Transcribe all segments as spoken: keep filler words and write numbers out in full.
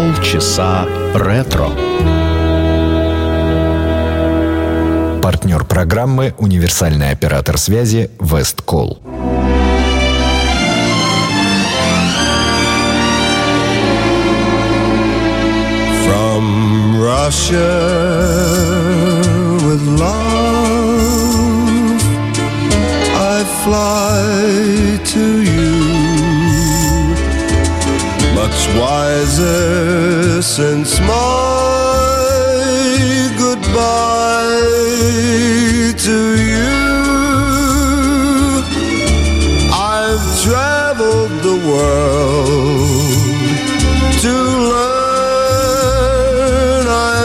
Полчаса ретро. Партнер программы — универсальный оператор связи Весткол. From Russia with love, I fly to you, much wiser since my goodbye to you. I've traveled the world to learn I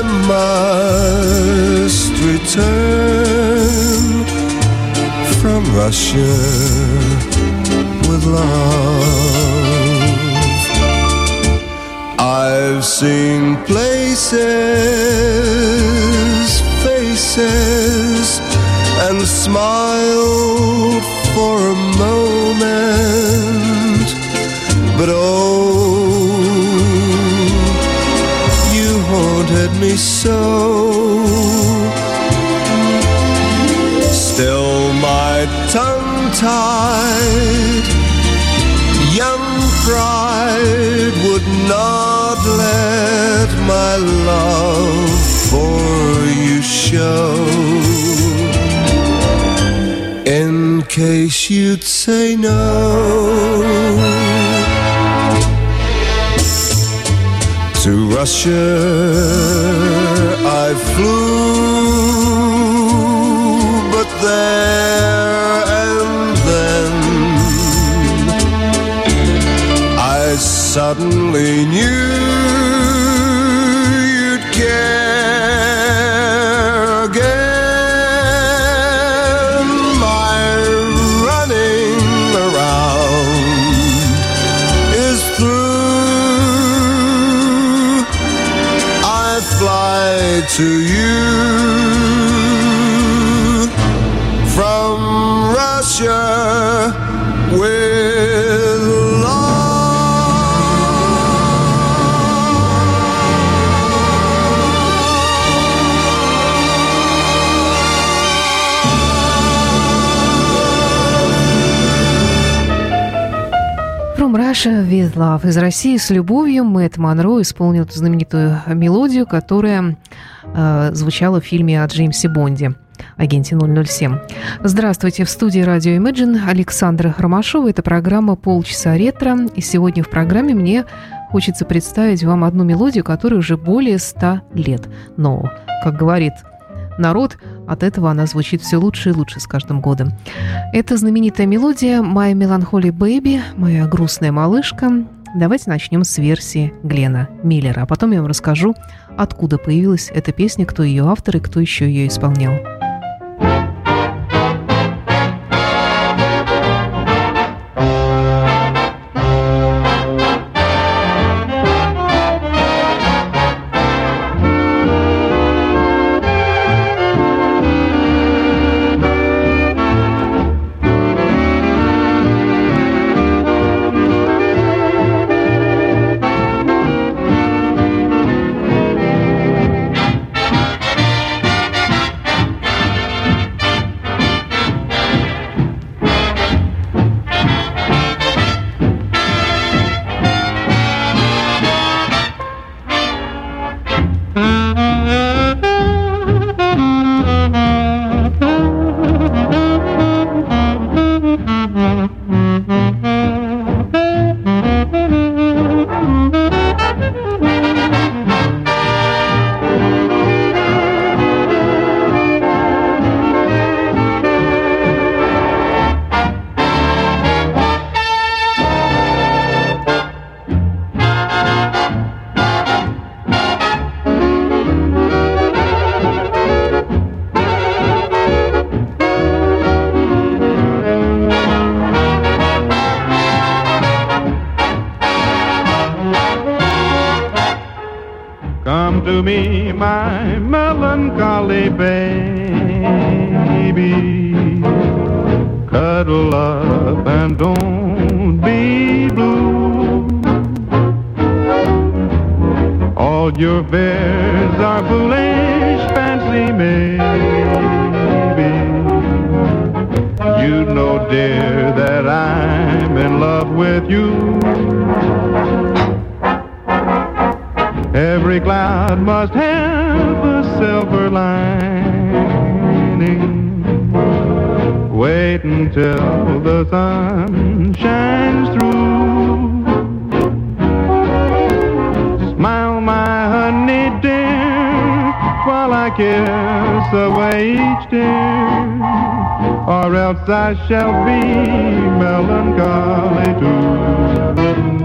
must return from Russia with love. I've seen places, faces, and smiled for a moment, but oh, you haunted me so. Still my tongue-tied young pride would not let my love for you show, in case you'd say no. To Russia I flew, but there and then I suddenly knew you'd care again. My running around is through. I fly to you from Russia with love. From Russia with Love. Из России с любовью Мэтт Монро исполнил эту знаменитую мелодию, которая э, звучала в фильме о Джеймсе Бонде, агенте ноль ноль семь. Здравствуйте, в студии радио Imagine Александра Ромашова. Это программа «Полчаса ретро». И сегодня в программе мне хочется представить вам одну мелодию, которой уже более ста лет. Но, как говорит народ, от этого она звучит все лучше и лучше с каждым годом. Это знаменитая мелодия «My Melancholy Baby», «Моя грустная малышка». Давайте начнем с версии Глена Миллера, а потом я вам расскажу, откуда появилась эта песня, кто ее автор и кто еще ее исполнял. Come to me, my melancholy baby, cuddle up and don't be blue. All your fears are foolish fancy, maybe. You know, dear, that I'm in love with you. Every cloud must have a silver lining. Wait until the sun shines through. Smile, my honey dear, while I kiss away each tear, or else I shall be melancholy too.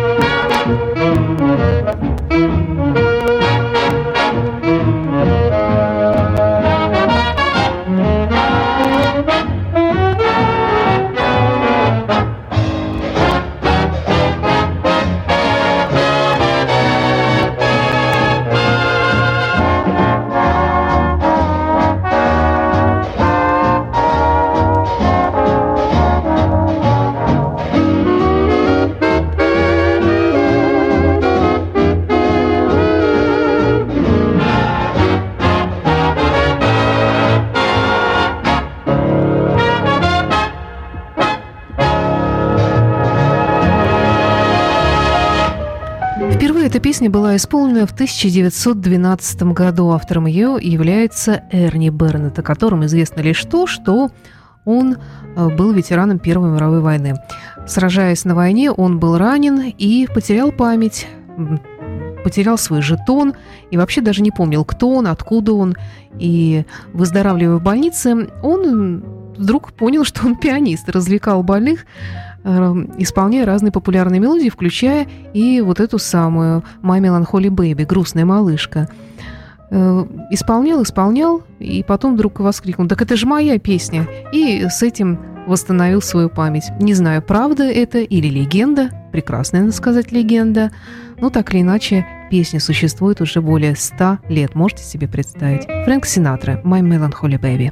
Эта песня была исполнена в тысяча девятьсот двенадцатом году. Автором ее является Эрни Бернетт, о котором известно лишь то, что он был ветераном Первой мировой войны. Сражаясь на войне, он был ранен и потерял память, потерял свой жетон и вообще даже не помнил, кто он, откуда он. И, выздоравливая в больнице, он вдруг понял, что он пианист, развлекал больных, исполняя разные популярные мелодии, включая и вот эту самую «My Melancholy Baby», «Грустная малышка». Исполнял, исполнял, и потом вдруг воскликнул: «Так это же моя песня!» И с этим восстановил свою память. Не знаю, правда это или легенда, прекрасная, надо сказать, легенда, но так или иначе песня существует уже более ста лет, можете себе представить. Фрэнк Синатра, «My Melancholy Baby».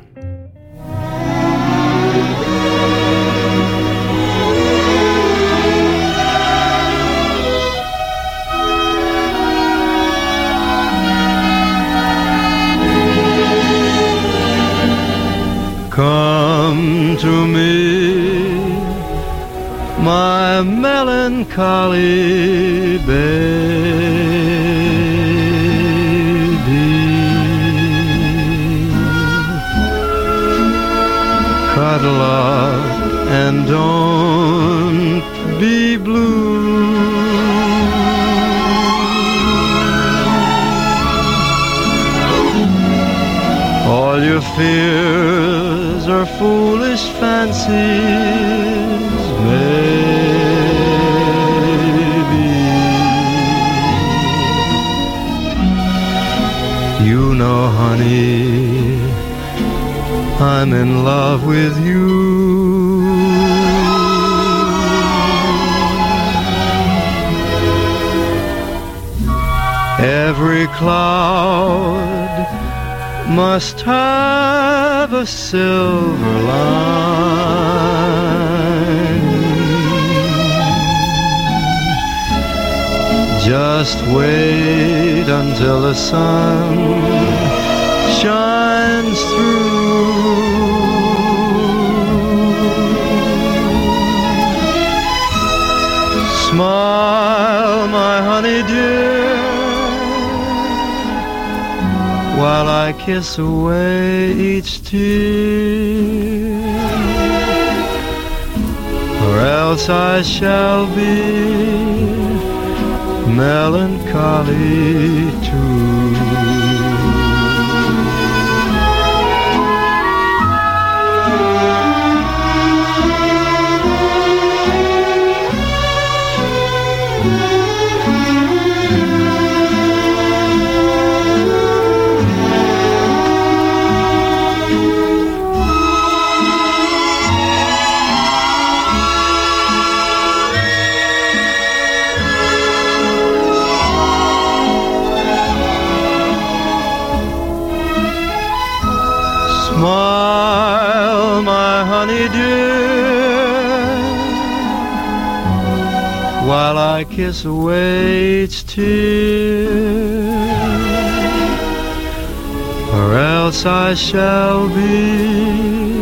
Come to me, my melancholy baby. Cuddle up and don't be blue. All your fears are foolish fancies, maybe. You know, honey, I'm in love with you. Every cloud must have a silver line. Just wait until the sun shines through. Smile, my honey dear, while I kiss away each tear, or else I shall be melancholy too. while I kiss away each tear, or else I shall be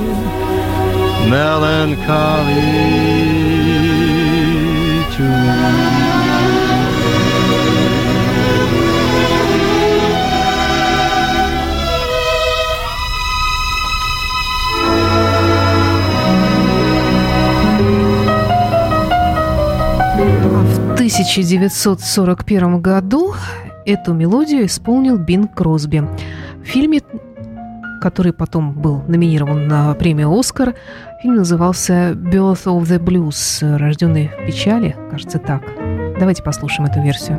melancholy too. В тысяча девятьсот сорок первом году эту мелодию исполнил Бинг Кросби. В фильме, который потом был номинирован на премию «Оскар», фильм назывался «Birth of the Blues», «Рожденный в печали», кажется, так. Давайте послушаем эту версию.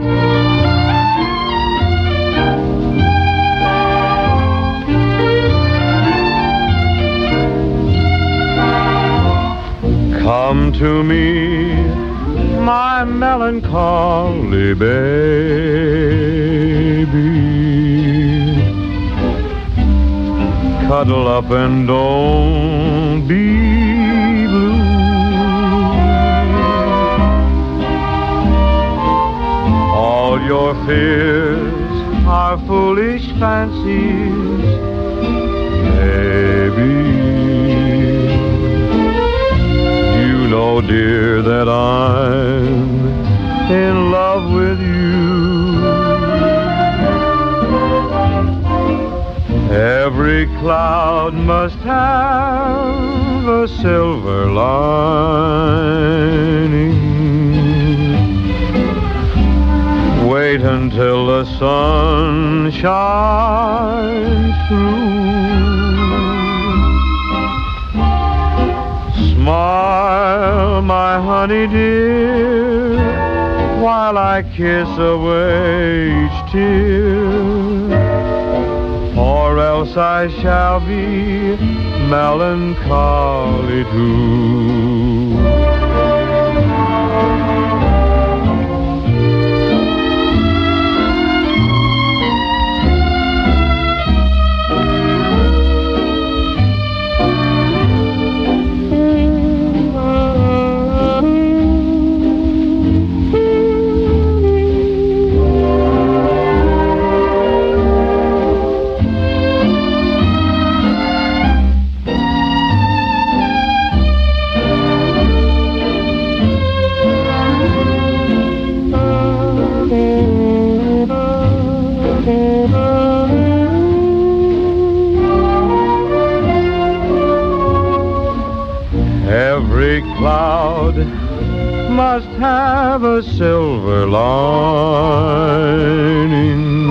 Come to me, my melancholy baby, cuddle up and don't be blue. All your fears are foolish fancies, baby. You know, dear, that I'm in love with you. Every cloud must have a silver lining. Wait until the sun shines through. Smile, my honey dear, while I kiss away each tear, or else I shall be melancholy too. Every cloud must have a silver lining.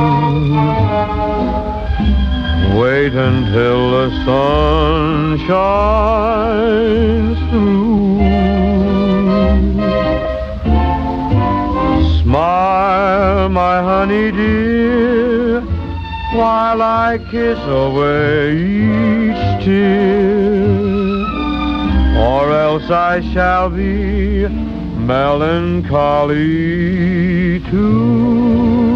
Wait until the sun shines through. Smile, my honey dear, while I kiss away each tear, or else I shall be melancholy too.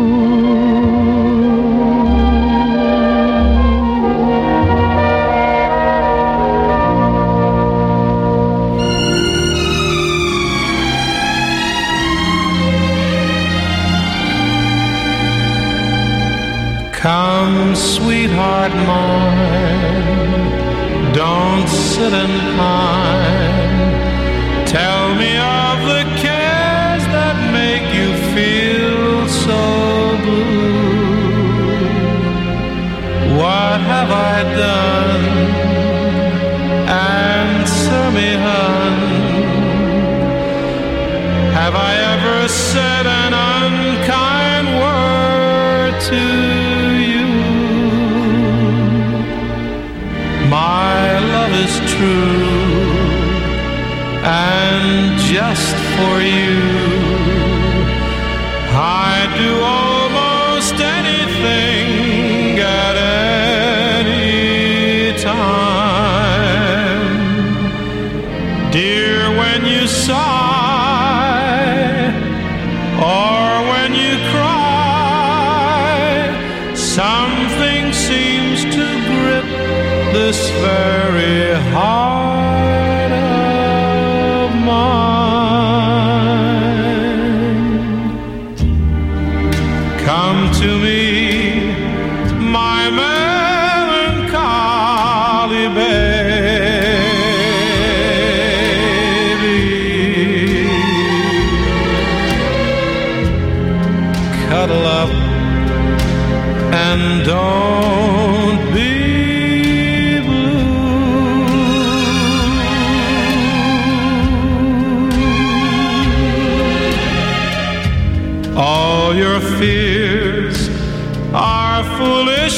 Come, sweetheart mine, don't sit and pine. Tell me of the cares that make you feel so blue. What have I done? Answer me, hon. Have I ever said an unkind word to you? My love is true, and just for you I'd do almost anything at any time. Dear, when you sigh or when you cry, something seems to grip this very heart of mine. fears are foolish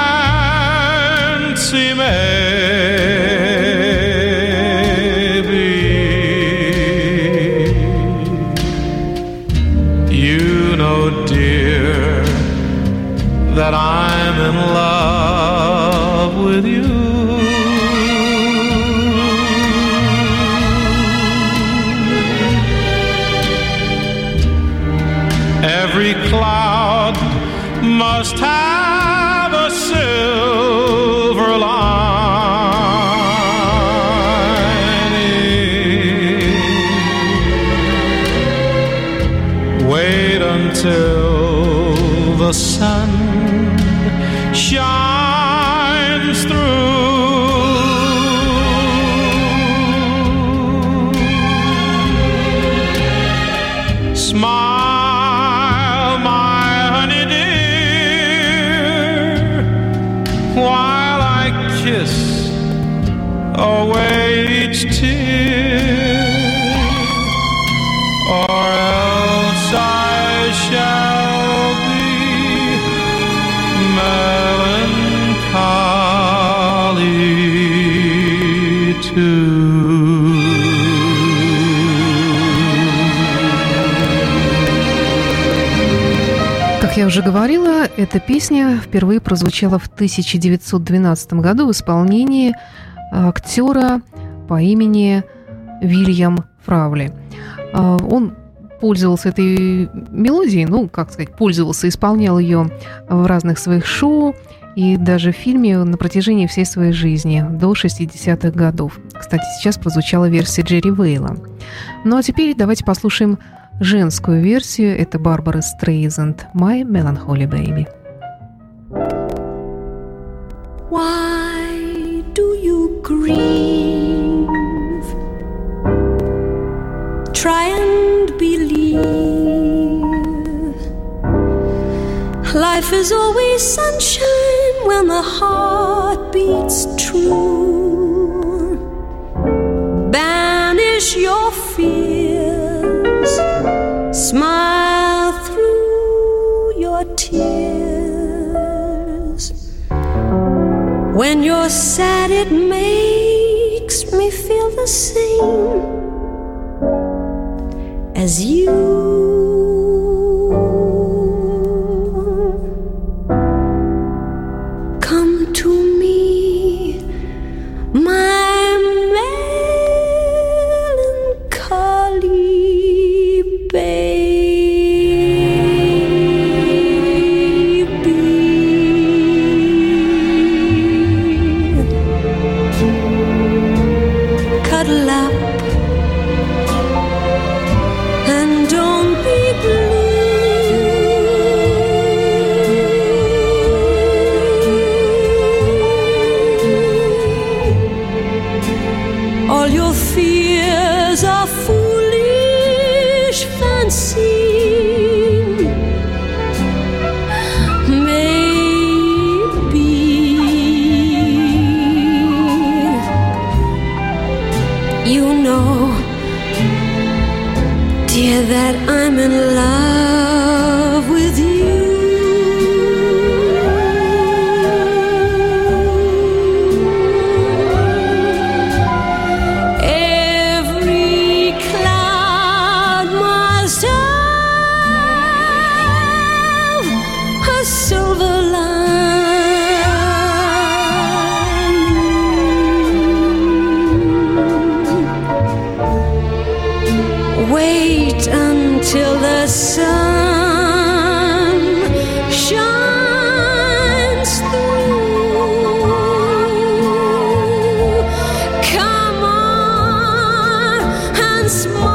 fancy maybe. You know, dear, that I'm in love with you. Every cloud must have a silver lining. Wait until the sun shines through. Smile, my honey dear, while I kiss away each tear, or else I shall be melancholy too. Как я уже говорила, эта песня впервые прозвучала в тысяча девятьсот двенадцатом году в исполнении актера по имени Вильям Фравли. Он пользовался этой мелодией, ну, как сказать, пользовался, исполнял ее в разных своих шоу и даже в фильме на протяжении всей своей жизни, до шестидесятых годов. Кстати, сейчас прозвучала версия Джерри Вейла. Ну, а теперь давайте послушаем женскую версию. Это Барбара Стрейзанд, «My Melancholy Baby». Why do you grieve? Try and believe life is always sunshine when the heart beats true. Banish your fears, smile through your tears. When you're sad, it makes me feel the same as you. Come to me, my melancholy baby. Cuddle up and don't be blue. All your fears are foolish fancy. Dear, that I'm in love with you. Every cloud must have a silver lining. Wait until the sun shines through. Come on and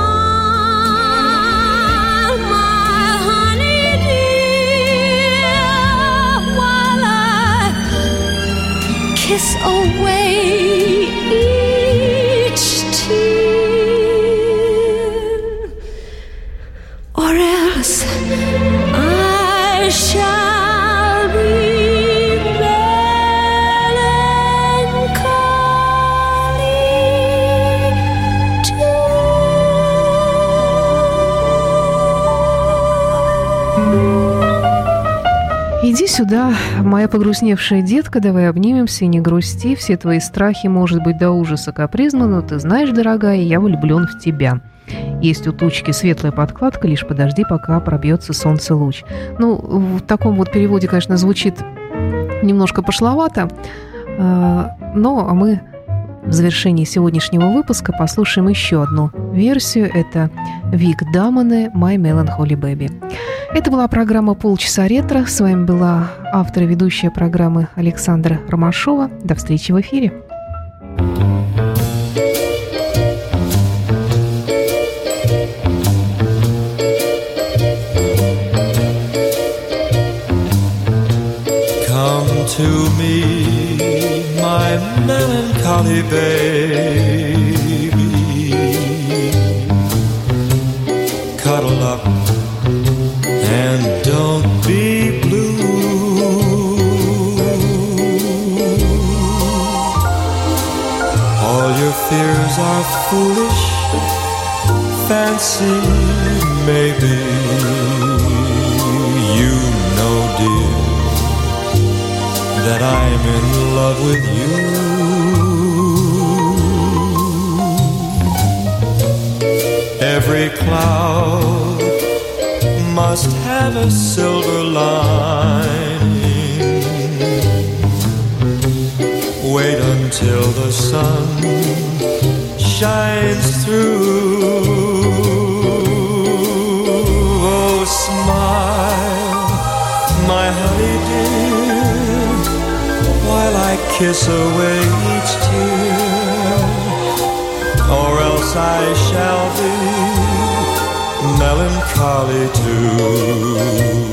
smile, my honey dear, while I kiss away each tear. Or else Иди сюда, моя погрустневшая детка, давай обнимемся и не грусти. Все твои страхи, может быть, до ужаса капризны, но ты знаешь, дорогая, я влюблен в тебя. Есть у тучки светлая подкладка, лишь подожди, пока пробьется солнце луч. Ну, в таком вот переводе, конечно, звучит немножко пошловато, но мы в завершении сегодняшнего выпуска послушаем еще одну версию. Это Вик Дамоне «My Melancholy Baby». Это была программа «Полчаса ретро». С вами была автор и ведущая программы Александра Ромашова. До встречи в эфире. Come to me, my melancholy baby, cuddle up and don't be blue. All your fears are foolish, fancy maybe. You know, dear, that I'm in love with you. Every cloud must have a silver lining. Wait until the sun shines through. Oh, smile, my honey dear, while I kiss away each tear, or else I shall be melancholy too.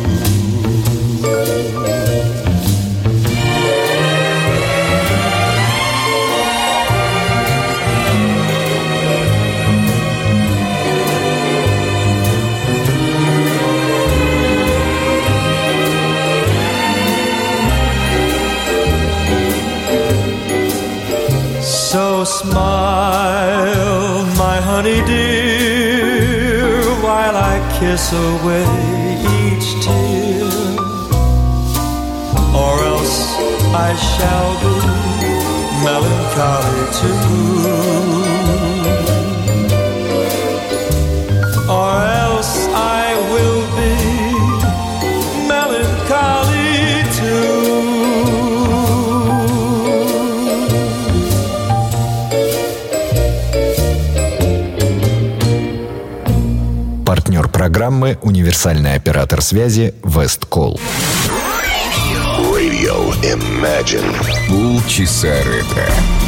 So smile, my honey dear, while I kiss away each tear, or else I shall be melancholy too. Or else I will be melancholy too. Партнер программы «Универсальный оператор связи» Весткол. Radio Imagine. Полчаса ретро.